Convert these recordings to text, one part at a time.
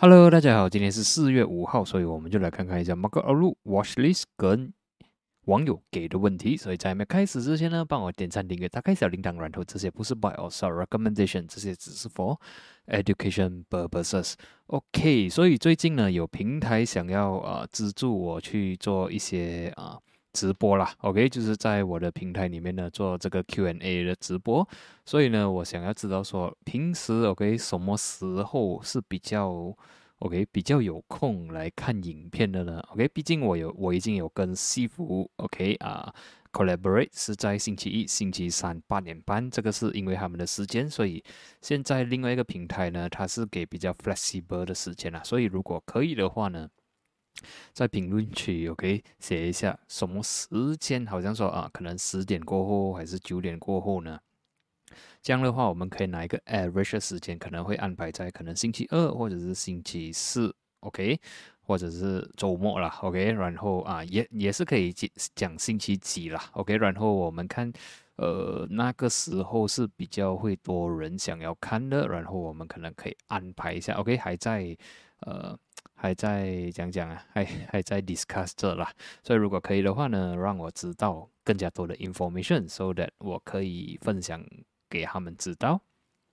Hello，大家好，今天是4月5号，所以我们就来看看一下 Market Outlook Watchlist 跟网友给的问题。所以在还没开始之前呢，帮我点赞、订阅、打开小铃铛，然后这些不是 buy or sell recommendation，这些只是 for education purposes。OK，所以最近呢，有平台想要资助我去做一些直播啦，OK，就是在我的平台里面呢做这个 Q&A 的直播，所以呢，我想要知道说平时 OK 什么时候是比较有空来看影片的呢？OK，毕竟我已经有跟西服 OK collaborate 是在星期一、星期三8点半，这个是因为他们的时间，所以现在另外一个平台呢，它是给比较 flexible 的时间啦，所以如果可以的话呢，在评论区 OK 写一下什么时间，好像说可能10点过后还是9点过后呢？这样的话，我们可以拿一个 average 的时间，可能会安排在可能星期二或者是星期四，OK，或者是周末啦，OK，然后也是可以讲星期几啦，OK，然后我们看，那个时候是比较会多人想要看的，然后我们可能可以安排一下，OK，呃还在讲讲啊，还在 discuss 这啦，所以如果可以的话呢，让我知道更加多的 information，so that 我可以分享给他们知道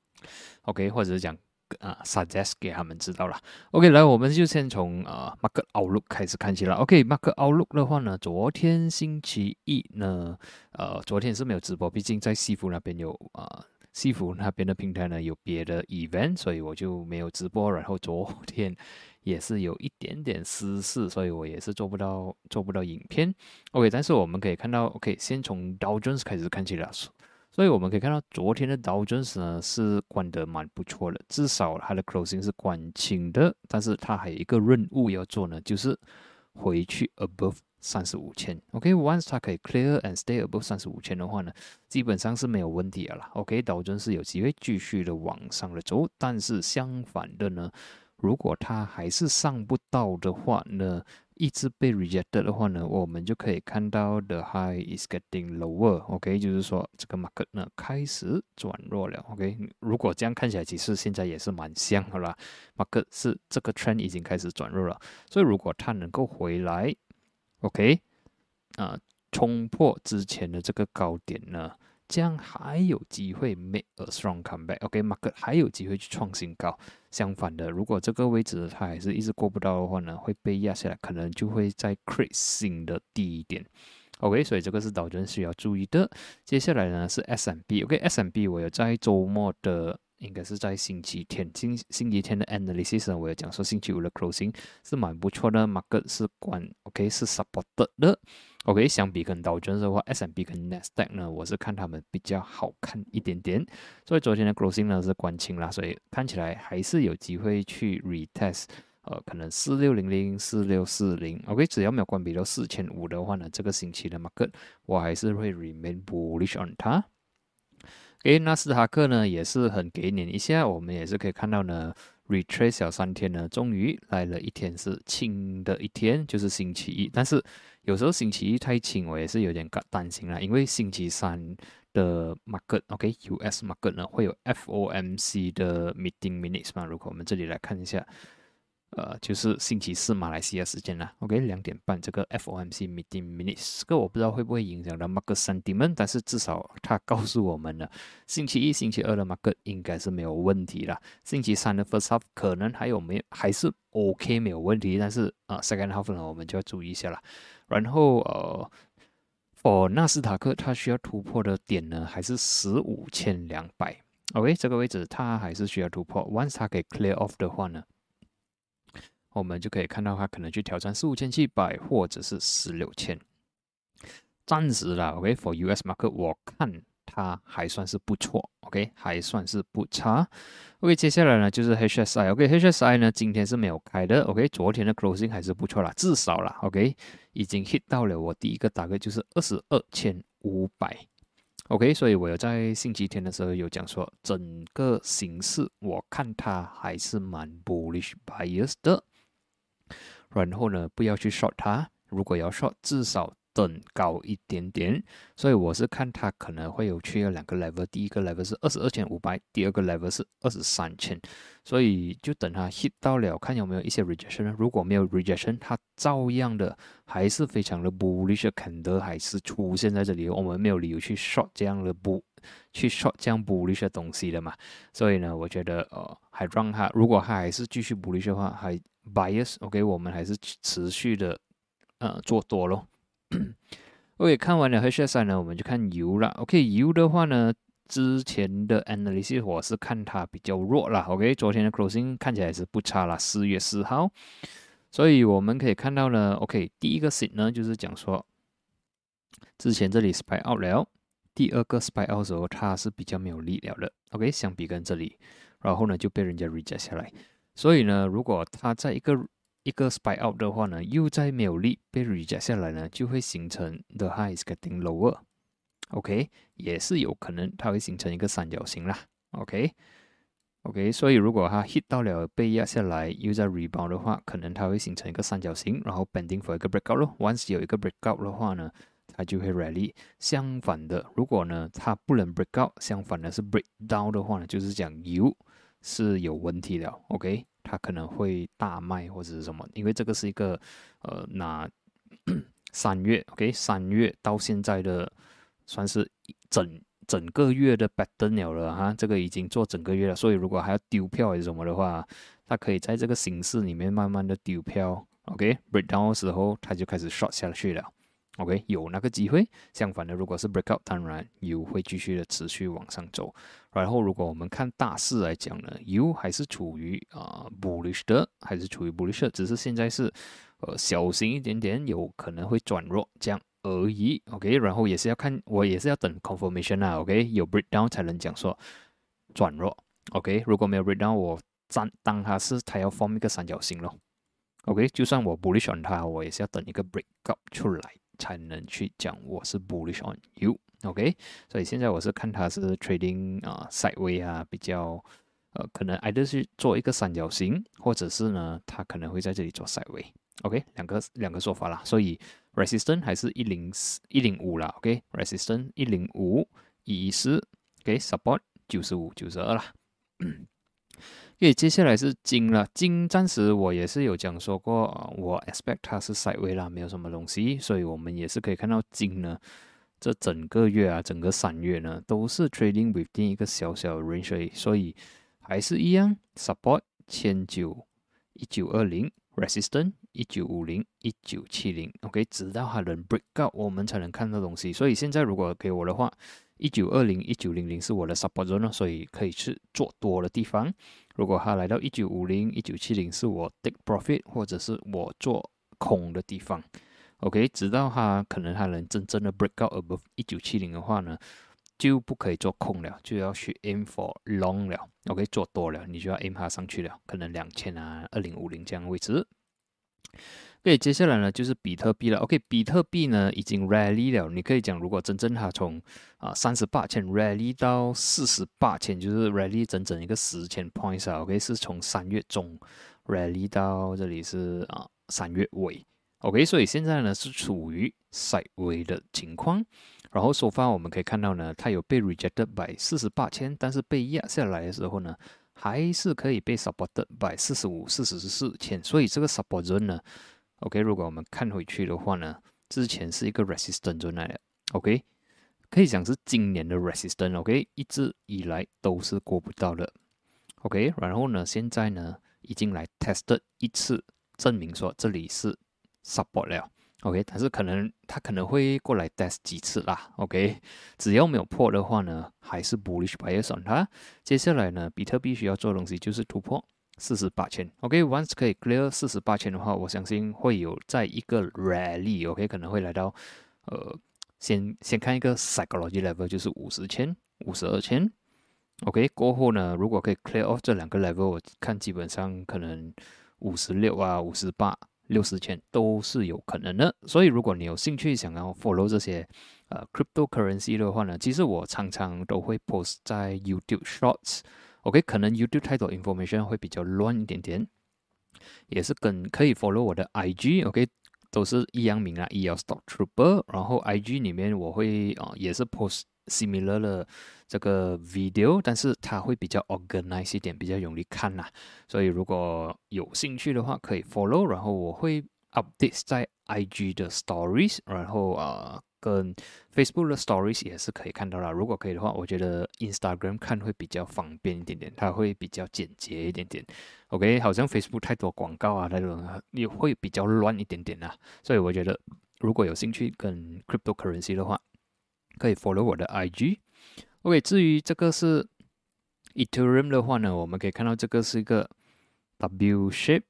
，OK，或者是讲suggest 给他们知道了。OK，来，我们就先从Market Outlook 开始看起了。OK，Market Outlook 的话呢，昨天星期一呢，昨天是没有直播，毕竟在西服那边有西服那边的平台呢有别的 event，所以我就没有直播。然后昨天也是有一点点私事，所以我也是做不到影片。OK，但是我们可以看到，OK，先从 Dow Jones 开始看起了。所以我们可以看到，昨天的 Dow Jones 呢是关得蛮不错的，至少它的 closing 是关清的，但是它还有一个任务要做呢，就是回去 above 35,000。OK，once 它可以 clear and stay above 35,000的话呢，基本上是没有问题的啦。OK，Dow Jones 是有机会继续的往上的走，但是相反的呢，如果它还是上不到的话呢，一直被 rejected 的话呢，我们就可以看到 the high is getting lower，OK，就是说这个 market 呢开始转弱了，OK，如果这样看起来，其实现在也是蛮像的啦，market 是这个 trend 已经开始转弱了，所以如果它能够回来，OK，啊、冲破之前的这个高点呢，这样还有机会 make a strong comeback，OK，market 还有机会去创新高。相反的，如果这个位置它还是一直过不到的话呢，会被压下来，可能就会在 create 新的低点。OK，所以这个是导致需要注意的。接下来呢是 S&P，OK，S&P 我有在周末的，应该是在星期天，星期天的 analysis 呢，我有讲说星期五的 closing 是蛮不错的，market 是关 OK 是 supported 的。OK，相比跟道琼斯的话，S&P 跟 Nasdaq 呢，我是看他们比较好看一点点。所以昨天的 closing 呢是关清啦，所以看起来还是有机会去 retest，可能4600、4640，OK，只要没有关闭到4500的话呢，这个星期的 market 我还是会 remain bullish on 它。诶，纳斯达克呢也是很给脸一下，我们也是可以看到呢，retrace 小3天呢，终于来了一天是轻的一天，就是星期一。但是有时候星期一太轻，我也是有点担心啦，因为星期三的 market，OK，US market 呢会有 FOMC 的 meeting minutes 嘛，如果我们这里来看一下。就是星期四马来西亚时间啦，OK，2点半这个 FOMC meeting minutes，这个我不知道会不会影响到 market sentiment，但是至少它告诉我们了，星期一、星期二的 market 应该是没有问题啦，星期三的 first half 可能还是 OK 没有问题，但是second half 呢我们就要注意一下啦。然后for 纳斯达克它需要突破的点呢还是15200，OK， 这个位置它还是需要突破，once 它可以 clear off 的话呢。我们就可以看到它可能去挑战45700或者是16000，暂时啦，OK，for US market 我看它还算是不错，OK，还算是不差。OK，接下来呢就是 HSI，OK，HSI 呢今天是没有开的，OK，昨天的 closing 还是不错啦，至少啦，OK，已经 hit 到了我第一个target就是22500。OK，所以我有在星期天的时候有讲说，整个形势我看它还是蛮 bullish bias 的。然后呢，不要去 short 它，如果要 short，至少等高一点点，所以我是看它可能会有去2个 level， 第一个 level 是22,500，第二个 level 是23,000，所以就等它 hit 到了，看有没有一些 rejection， 如果没有 rejection， 它照样的还是非常的 bullish 的 candle 还是出现在这里，我们没有理由去 short 这样 bullish 的东西的嘛，所以呢，我觉得还让它，如果它还是继续 bullish 的话，还 bias，OK， 我们还是持续的做多咯。OK， 看完了 HSI 呢，我们就看油了。OK， 油的话呢，之前的 analysis 我是看它比较弱啦。OK， 昨天的 closing 看起来是不差啦，4月4号。所以我们可以看到呢 ，OK， 第一个 sit 呢就是讲说，之前这里 spy out 了，第二个 spy out 的时候它是比较没有力了的。OK， 相比跟这里，然后呢就被人家 reject 下来。所以呢，如果它在一个 spy out 的话呢，又在没有力被 reject 下来呢，就会形成 the high is getting lower。OK， 也是有可能它会形成一个三角形啦。OK， 所以如果它 hit 到了被压下来，又在 rebound 的话，可能它会形成一个三角形，然后 pending for 一个 breakout 咯。Once 有一个 breakout 的话呢，它就会 rally。相反的，如果呢它不能 breakout， 相反的是 breakdown 的话呢，就是讲油是有问题了。OK， 它可能会大卖或者是什么，因为这个是一个拿3月 OK 3月到现在的算是整个月的 pattern 了哈，这个已经做整个月了，所以如果还要丢票还是什么的话，它可以在这个形式里面慢慢的丢票。OK， breakdown 的时候它就开始 short 下去了。OK， 有那个机会。相反的，如果是 breakout， 当然油会继续的持续往上走。然后，如果我们看大势来讲呢，油还是处于bullish 的，还是处于 bullish 的，只是现在是小型一点点，有可能会转弱这样而已。OK， 然后也是要看，我也是要等 confirmation 啊。OK， 有 breakdown 才能讲说转弱。OK， 如果没有 breakdown， 我当它要 form 一个三角形咯。OK， 就算我 bullish on 它，我也是要等一个 breakout 出来才能去讲我是 bullish on you。OK， 所以现在我是看它是 trading sideway 啊，比较可能 either 是做一个三角形，或者是呢它可能会在这里做 sideway。OK， 两个说法啦，所以 resistance 还是105啦。OK，resistance 105、114 ，OK，support 95、92啦。OK， 接下来是金了。金暂时我也是有讲说过我 expect 它是 sideway 啦，没有什么东西，所以我们也是可以看到金呢，这整个月啊，整个3月呢，都是 trading within 一个小小的 range， 所以还是一样 support 1900、1920 resistance 1950、1970 ，OK， 直到它能 break out， 我们才能看到东西。所以现在如果给我的话，1920、1900是我的 support zone， 所以可以去做多的地方。如果它来到1950、1970是我 take profit 或者是我做空的地方。OK， 直到它能真正的 break out above 1970的话呢，就不可以做空了，就要去 aim for long 了。OK， 做多了，你就要 aim 它上去了，可能2000啊、2050这样的位置。OK， 接下来呢就是比特币了。OK， 比特币呢已经 rally 了，你可以讲，如果真正它从38,000 rally 到48,000，就是 rally 整整一个10,000 points 啊。OK， 是从3月中 rally 到这里是3月尾。OK， 所以现在呢是处于 sideway 的情况。然后so far我们可以看到呢，它有被 rejected by 48,000，但是被压下来的时候呢，还是可以被 supported by 45、44,000。所以这个 support zone 呢，OK， 如果我们看回去的话呢，之前是一个 resistance zone 来的。OK， 可以讲是今年的 resistance。OK， 一直以来都是过不到的。OK， 然后呢，现在呢已经来 tested 一次，证明说这里是 support 了。OK， 但是它可能会过来 test 几次啦。OK， 只要没有破的话呢，还是 bullish bias on 它。接下来呢，比特币需要做的东西就是突破48,000。OK，once 可以 clear 48,000的话，我相信会有在一个 rally。OK， 可能会来到先看一个 psychology level， 就是50,000、52,000。OK， 过后呢，如果可以 clear off 这两个 level， 我看基本上可能56啊、58。60,000都是有可能的，所以如果你有兴趣想要 follow 这些cryptocurrency 的话呢，其实我常常都会 post 在 YouTube Shorts。OK， 可能 YouTube 太多 information 会比较乱一点点，也是可以 follow 我的 IG。OK， 都是一样名啦 ，EL Stock Trooper。然后 IG 里面我会也是 post similar 的这个 video， 但是它会比较 organized 一点，比较容易看啦。所以如果有兴趣的话，可以 follow。然后我会 update 在 IG 的 stories， 然后跟 Facebook 的 stories 也是可以看到啦。如果可以的话，我觉得 Instagram 看会比较方便一点点，它会比较简洁一点点。OK， 好像 Facebook 太多广告啊，那种也会比较乱一点点啦。所以我觉得如果有兴趣跟 cryptocurrency 的话，可以 follow 我的 IG。OK， 至于这个是 Ethereum 的话呢，我们可以看到这个是一个 W shape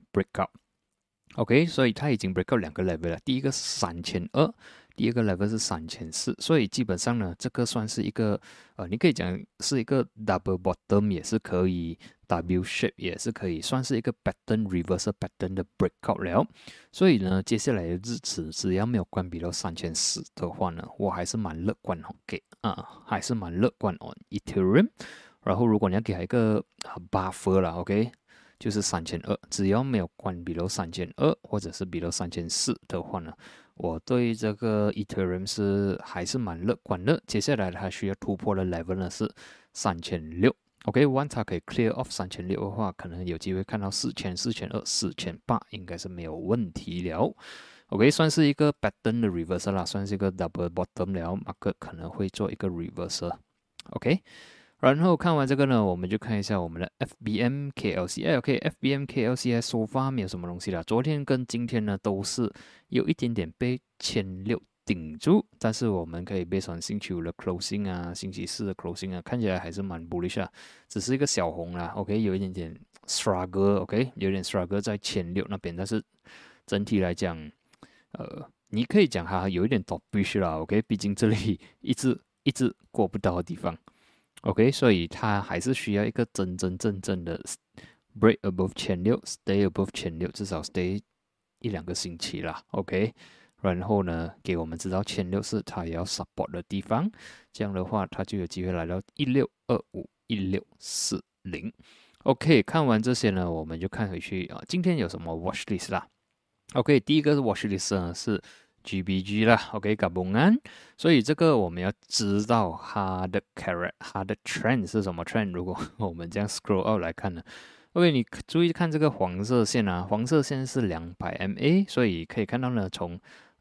breakout。OK， 所以它已经 breakout 2个 level 了，第一个是3200，第二个 level 是3400，所以基本上呢，这个算是一个你可以讲是一个 double bottom， 也是可以 W shape， 也是可以算是一个 pattern reversal pattern 的 breakout 了。所以呢，接下来的日子只要没有关闭到3400的话呢，我还是蛮乐观，OK 还是蛮乐观 on Ethereum。然后如果你要给它一个buffer 啦 ，OK。就是3200，只要没有关闭到3200或者是比到3400的话呢，我对这个 Ethereum 还是蛮乐观的。接下来它需要突破的 level 呢是3600。OK，once 它可以 clear off 3600的话，可能有机会看到4000、4200、4800，应该是没有问题了。OK， 算是一个 pattern 的 reversal 啦，算是一个 double bottom 了，market 可能会做一个 reversal。OK。然后看完这个呢，我们就看一下我们的 FBM KLCI。OK，FBM KLCI so far 没有什么东西啦。昨天跟今天呢都是有一点点被1600顶住，但是我们可以based on星期五的 closing 啊，星期四的 closing 啊，看起来还是蛮 bullish 啊，只是一个小红啦。OK， 有一点点 struggle。OK， 有点 struggle 在1600那边，但是整体来讲，你可以讲它有一点 topish 啦。OK， 毕竟这里一直过不到的地方。OK， 所以它还是需要一个真正的 break above 1600 ，stay above 1600，至少 stay 1-2个星期啦。OK， 然后呢，给我们知道1600是它也要 support 的地方，这样的话它就有机会来到1625、1640。OK， 看完这些呢，我们就看回去今天有什么 watch list 啦。OK， 第一个是 watch list 呢是GBG 啦 ，OK， gabungan， 所以这个我们要知道它的 它的 trend 是什么 trend。如果我们这样 scroll out 来看呢 ，OK， 你注意看这个黄色线啊，黄色线是200 MA， 所以可以看到呢，从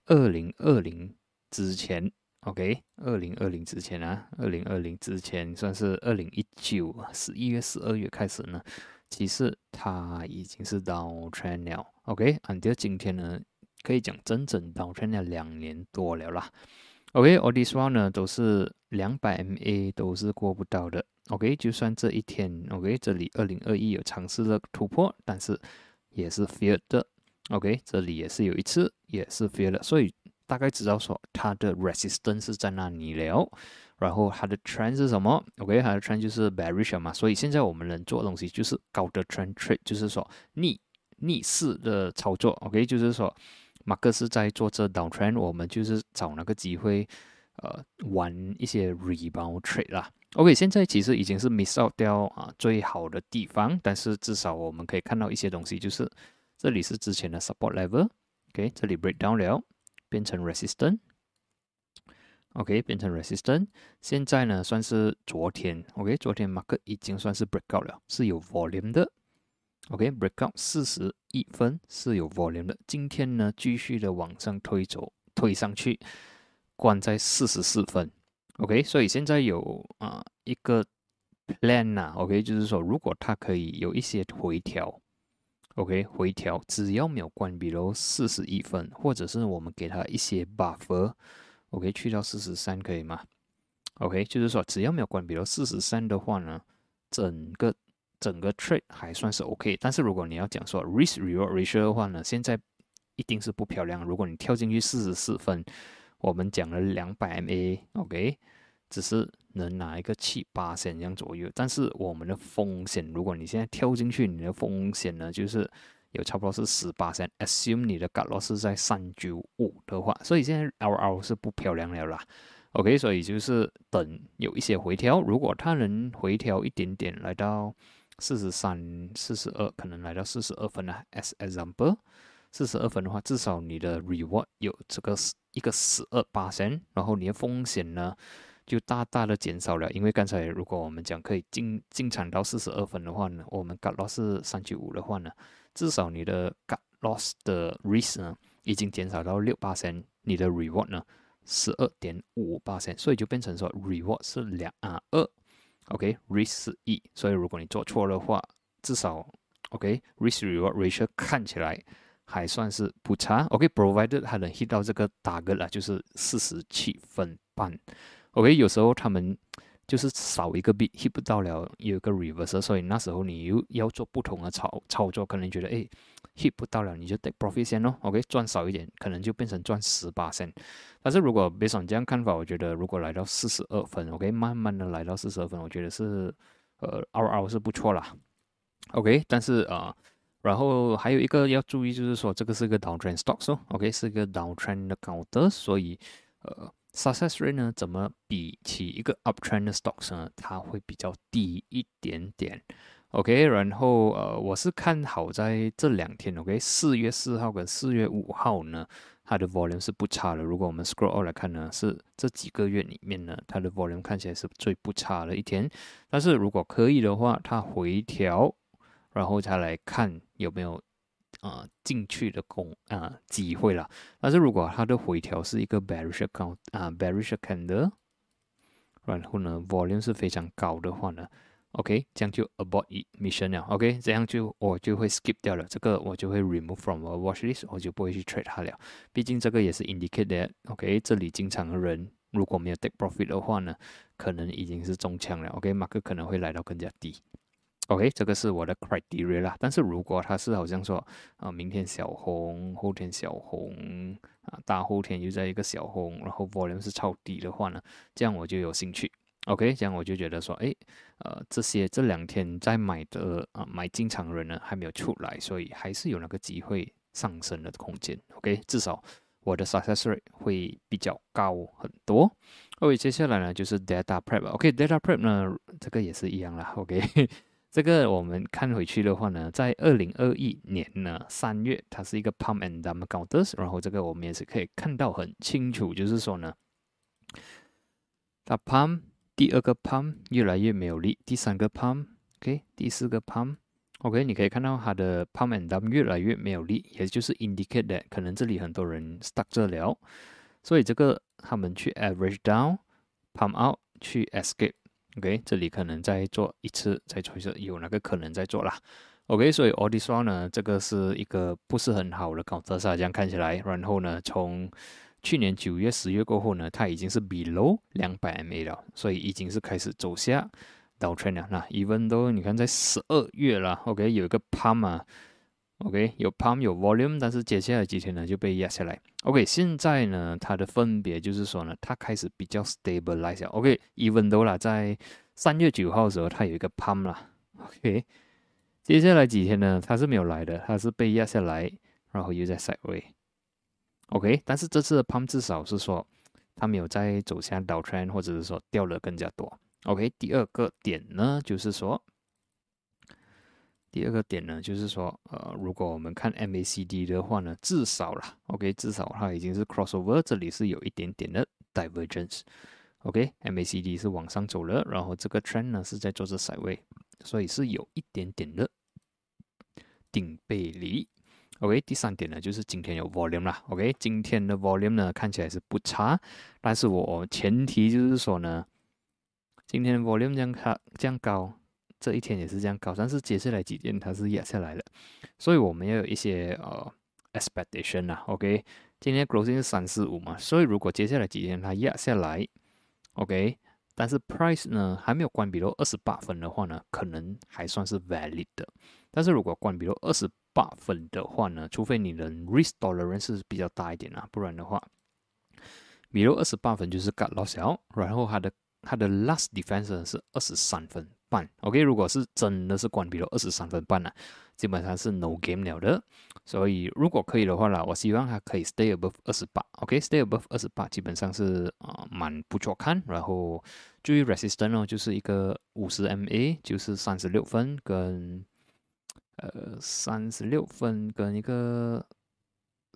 2020之前 ，OK，2020 之前啊，2020之前算是2019 11月、12月开始呢，其实它已经是 down trend 了 ，OK，until 今天呢。可以讲整整downtrend了2年多了啦。OK，all this while 呢都是200 MA 都是过不到的。OK， 就算这一天 ，OK， 这里2021有尝试了突破，但是也是 failed 的。OK， 这里也是有一次也是 failed 的，所以大概知道说它的 resistance 是在那里了。然后它的 trend 是什么 ？OK， 它的 trend 就是 bearish 嘛，所以现在我们能做的东西就是高的 trend trade， 就是说逆势的操作。OK， 就是说。马克是在做这 downtrend， 我们就是找那个机会，玩一些 rebound trade 啦。OK， 现在其实已经是 miss out 掉最好的地方，但是至少我们可以看到一些东西，就是这里是之前的 support level，OK， 这里 break down 了，变成 resistance，OK， 变成 resistance。现在呢，算是昨天 ，OK， 昨天 market 已经算是 breakout 了，是有 volume 的。OK，breakout 41分是有 volume 的。今天呢，继续的往上推上去，关在44分。OK， 所以现在有一个 plan 啦。OK， 就是说如果它可以有一些回调 ，OK， 回调只要没有关闭到41分，或者是我们给它一些 buffer，OK， 去到43可以吗 ？OK， 就是说只要没有关闭到43的话呢，整个 trade 还算是 OK， 但是如果你要讲说 risk reward ratio 的话呢，现在一定是不漂亮。如果你跳进去44分，我们讲了200 MA，OK， 只是能拿一个7-8这样左右，但是我们的风险，如果你现在跳进去，你的风险呢就是有差不多是18%，assume 你的 cut loss 是在395的话，所以现在 RR 是不漂亮了啦。OK， 所以就是等有一些回调，如果它能回调一点点来到43、42，可能来到42分啊 ，as example 42分的话，至少你的 reward 有这个一个12%，然后你的风险呢就大大的减少了。因为刚才如果我们讲可以进场到42分的话呢，我们 cut loss 是395的话呢，至少你的 cut loss 的 risk 呢已经减少到6%，你的 reward 呢12.55%，所以就变成说 reward 是2，OK，risk 是1，所以如果你做错的话，至少 OK，risk reward ratio 看起来还算是不差。OK，provided 它能 hit 到这个 target 啦，就是47分半。OK，有时候他们就是少一个 bit hit 不到了，有一个 reverse， 所以那时候你又要做不同的操作，可能觉得hit 不到了，你就 take profit 先咯。OK，赚少一点，可能就变成赚10%。但是如果 based on 这样看法，我觉得如果来到42分 ，OK， 慢慢的来到42分，我觉得是RR 是不错啦。OK， 但是然后还有一个要注意，就是说这个是个 downtrend stocks 哦，OK， 是个 downtrend 的 counter， 所以success rate 呢，怎么比起一个 uptrend 的 stocks 呢？它会比较低一点点。OK， 然后我是看好在这2天 ，OK， 4月4号跟4月5号呢，它的 volume 是不差的。如果我们 scroll out 来看呢，是这几个月里面呢，它的 volume 看起来是最不差的一天。但是如果可以的话，它回调，然后再来看有没有进去的机会啦。但是如果它的回调是一个 bearish candle，然后呢 volume 是非常高的话呢，OK， 这样就 abort mission 了 ，OK， 这样我就会 skip 掉了，这个我就会 remove from a watch list， 我就不会去 trade 它了。毕竟这个也是 indicate that，OK， 这里进场的人如果没有 take profit 的话呢，可能已经是中枪了，OK，market 可能会来到更加低。OK， 这个是我的 criteria 啦。但是如果它是好像说明天小红，后天小红大后天又在一个小红，然后 volume 是超低的话呢，这样我就有兴趣。OK， 这样我就觉得说，这2天在买的买进场人呢还没有出来，所以还是有那个机会上升的空间。OK， 至少我的 success rate 会比较高很多。OK， 接下来呢就是 data prep。OK，data prep 呢这个也是一样啦。OK。这个我们看回去的话呢，在2021年呢3月，它是一个 pump and dump counters， 然后这个我们也是可以看到很清楚，就是说呢，它 pump 第2个 pump 越来越没有力，第3个 pump，OK， 第4个 pump，OK， 你可以看到它的 pump and dump 越来越没有力，也就是 indicate that 可能这里很多人 stuck 这了，所以这个他们去 average down，pump out 去 escape。OK， 这里可能再做一次，再做一次，有那个可能再做啦。OK， 所以 all this while 呢，这个是一个不是很好的counter这样看起来。然后呢，从去年9月、10月过后呢，它已经是 below 200 MA 了，所以已经是开始走下 downtrend 了。那 even though 你看在12月了 ，OK， 有一个 pump OK， 有 pump 有 volume， 但是接下来几天呢就被压下来。OK， 现在呢它的分别就是说呢，它开始比较 stabilize 了。OK，even though 啦，在3月9号的时候它有一个 pump 啦。OK， 接下来几天呢它是没有来的，它是被压下来，然后又在 sideway。OK， 但是这次的 pump 至少是说它没有再走向 downtrend， 或者是说掉了更加多。OK， 第二个点呢就是说。如果我们看 MACD 的话呢，至少啦 ，OK， 至少它已经是 crossover， 这里是有一点点的 divergence。OK，MACD 是往上走了，然后这个 trend 呢是在做着 sideway， 所以是有一点点的顶背离。OK， 第3点呢就是今天有 volume 啦。OK， 今天的 volume 呢看起来是不差，但是我前提就是说呢，今天 volume 这样高。这一天也是这样高，但是接下来几天它是压下来了，所以我们要有一些expectation 啦 ，OK， 今天 closing 是345嘛，所以如果接下来几天它压下来 ，OK， 但是 price 呢还没有关闭到28分的话呢，可能还算是 valid 的，但是如果关闭到28分的话呢，除非你的 risk tolerance 是比较大一点啊，不然的话，比如28分就是 cut loss 了，然后它的 last defense 是23分半 ，OK， 如果是真的是关闭了23分半基本上是 no game 了的。所以如果可以的话啦，我希望它可以 stay above 28，OK，stay above 28基本上是蛮不错看。然后注意 resistance 就是一个50 MA， 就是36分跟一个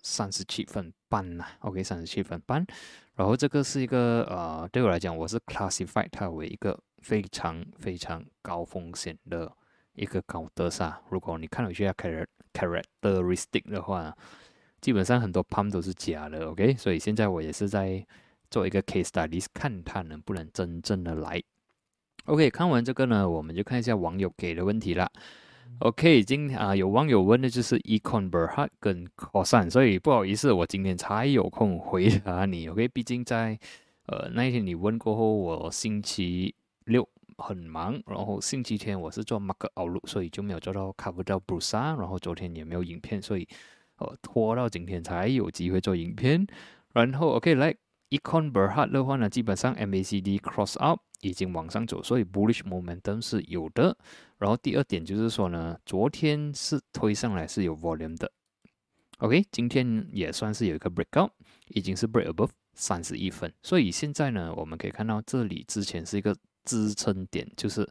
37分半啦 ，OK， 37分半。然后这个是一个对我来讲，我是 classify 它为一个非常非常高风险的一个高德萨。如果你看回去它 characteristic 的话，基本上很多 pump 都是假的 ，OK， 所以现在我也是在做一个 case studies， 看它能不能真正的来。OK， 看完这个呢，我们就看一下网友给的问题啦。OK， 有网友问的就是 Econ Berhad 跟 Kosan， 所以不好意思，我今天才有空回答你。OK， 毕竟在那一天你问过后，我星期六很忙，然后星期天我是做 Market Outlook， 所以就没有做到 cover 到 Bursa， 然后昨天也没有影片，所以拖到今天才有机会做影片。然后 OK 来 Econ Berhad 的话呢，基本上 MACD cross up 已经往上走，所以 bullish momentum 是有的。然后第二点就是说呢，昨天是推上来是有 volume 的 ，OK， 今天也算是有一个 breakout， 已经是 break above 31分，所以现在呢，我们可以看到这里之前是一个支撑点，就是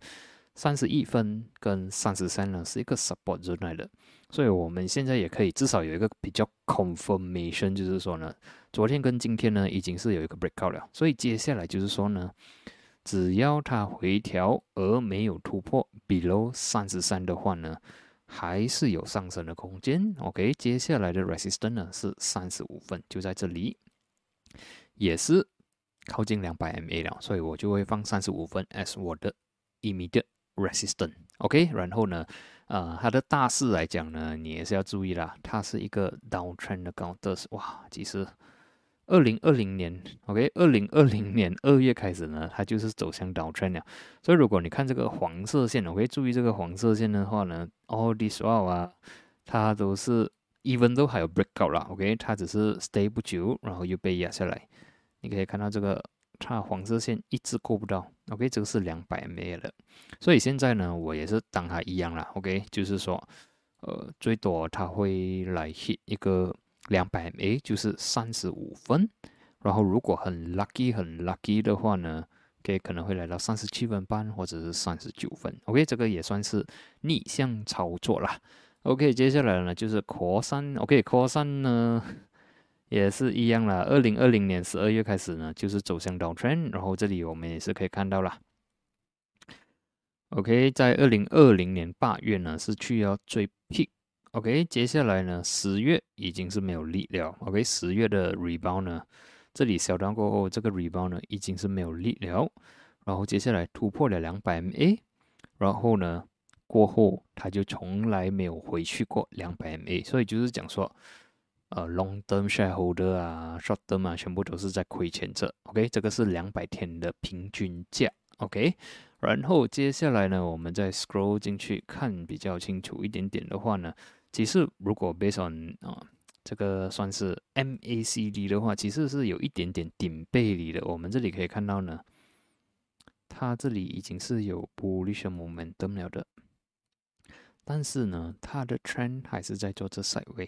31分跟33呢是一个 support zone 来的，所以我们现在也可以至少有一个比较 confirmation， 就是说呢，昨天跟今天呢已经是有一个 breakout 了，所以接下来就是说呢，只要它回调而没有突破 below 33的话呢，还是有上升的空间。OK， 接下来的 resistance 呢是35分，就在这里，也是靠近200 MA 了，所以我就会放35分 as 我的 immediate resistance。OK， 然后呢，它的大势来讲呢，你也是要注意啦，它是一个 downtrend 的高的，哇，其实。2020年 ，OK， 2020年2月开始呢，它就是走向 downtrend 了。所以如果你看这个黄色线，OK， 注意这个黄色线的话呢 ，all this while 啊，它都是 even 都还有 breakout 啦 ，OK， 它只是 stay 不久，然后又被压下来。你可以看到这个，它黄色线一直过不到 ，OK， 这个是200 MA 的。所以现在呢，我也是当它一样啦 ，OK， 就是说，最多它会来 hit 一个。200 MA 就是35分，然后如果很 lucky 的话呢，OK 可能会来到37分半或者是39分。OK， 这个也算是逆向操作啦。OK， 接下来呢就是 Core 3 ，OK Core 3呢也是一样啦。2020年12月开始呢，就是走向 downtrend， 然后这里我们也是可以看到啦。OK， 在2020年8月呢是去要最 peak。OK， 接下来呢，10月已经是没有力了。OK，10月的 rebound 呢，这里小段过后，这个 rebound 呢已经是没有力了。然后接下来突破了200 MA， 然后呢过后它就从来没有回去过200 MA， 所以就是讲说，long term shareholder 啊 ，short term 啊，全部都是在亏钱着。OK， 这个是200天的平均价。OK。然后接下来呢，我们再 scroll 进去看比较清楚一点点的话呢，其实如果 based on 这个算是 MACD 的话，其实是有一点点顶背离的。我们这里可以看到呢，它这里已经是有 bullish momentum 了的，但是呢，它的 trend 还是在做这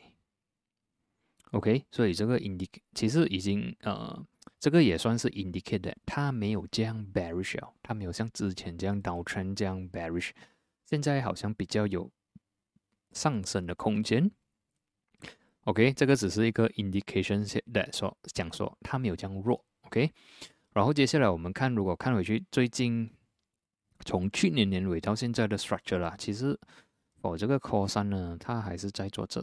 sideway。OK， 所以这个 其实已经这个也算是 indicate 它没有这样 bearish 了，它没有像之前这样 downtrend 这样 bearish， 现在好像比较有上升的空间。OK， 这个只是一个 indication that 讲说它没有这样弱。OK， 然后接下来我们看，如果看回去最近从去年年尾到现在的 structure 啦，其实这个 Core 3呢，它还是在做这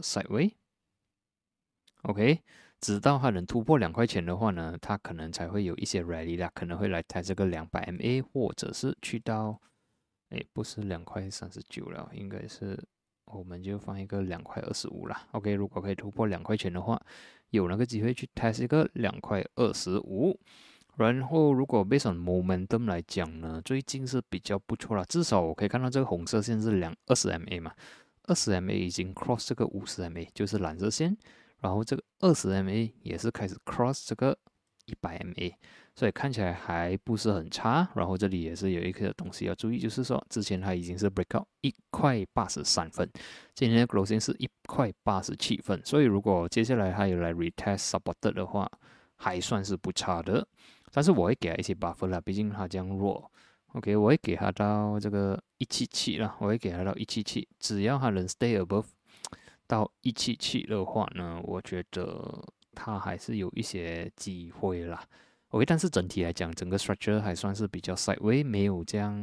sideway。OK。直到它能突破2块钱的话呢，它可能才会有一些 rally 啦，可能会来抬这个200 MA， 或者是去到，不是2块39了，应该是我们就放一个2块25啦。OK， 如果可以突破2块钱的话，有那个机会去 test 一个2块25。然后如果 based on momentum 来讲呢，最近是比较不错啦，至少我可以看到这个红色线是20 MA 嘛，20 MA 已经 cross 这个50 MA， 就是蓝色线。然后这个20 MA 也是开始 cross 这个100 MA， 所以看起来还不是很差。然后这里也是有一个东西要注意，就是说之前它已经是 breakout 1块83分，今天的 closing 是1块87分，所以如果接下来它有来 retest supported 的话，还算是不差的。但是我会给它一些 buffer 啦，毕竟它这样弱。OK， 我会给它到这个177啦，我会给它到177，只要它能 stay above 到177的话呢，我觉得它还是有一些机会啦。OK，但是整体来讲，整个 structure 还算是比较 sideway，没有这样，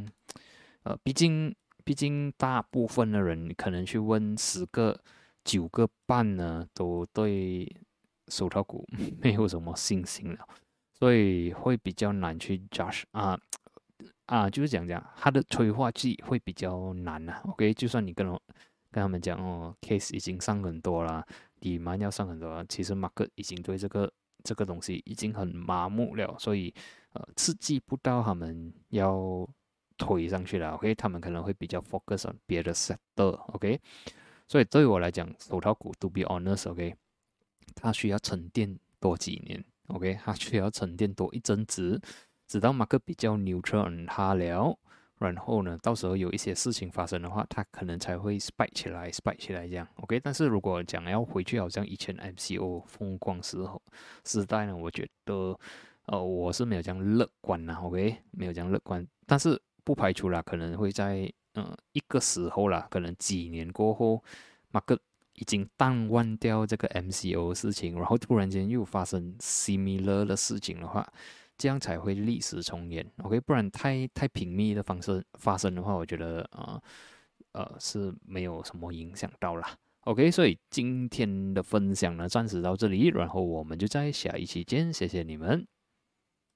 毕竟大部分的人可能去问10个9个半呢，都对手套股没有什么信心了，所以会比较难去 judge 就是讲它的催化剂会比较难啊。OK，就算你跟他们讲哦，case 已经上很多啦，demand 要上很多了，其实 market 已经对这个东西已经很麻木了，所以刺激不到他们要推上去了。OK，他们可能会比较 focus on 别的 sector。OK，所以对我来讲，手套股 to be honest，OK，它需要沉淀多几年。OK，它需要沉淀多一阵子，直到 market 比较 neutral 它了。然后呢，到时候有一些事情发生的话，它可能才会 spike 起来，spike 起来这样，OK。但是如果讲要回去，好像以前 MCO 风光时代呢，我觉得，我是没有这样乐观啦，OK，没有这样乐观。但是不排除啦，可能会在一个时候啦，可能几年过后，market 已经淡忘掉这个 MCO 的事情，然后突然间又发生 similar 的事情的话。这样才会历史重演，OK，不然太频密的方式发生的话，我觉得是没有什么影响到啦，OK，所以今天的分享呢，暂时到这里，然后我们就在下一期见，谢谢你们。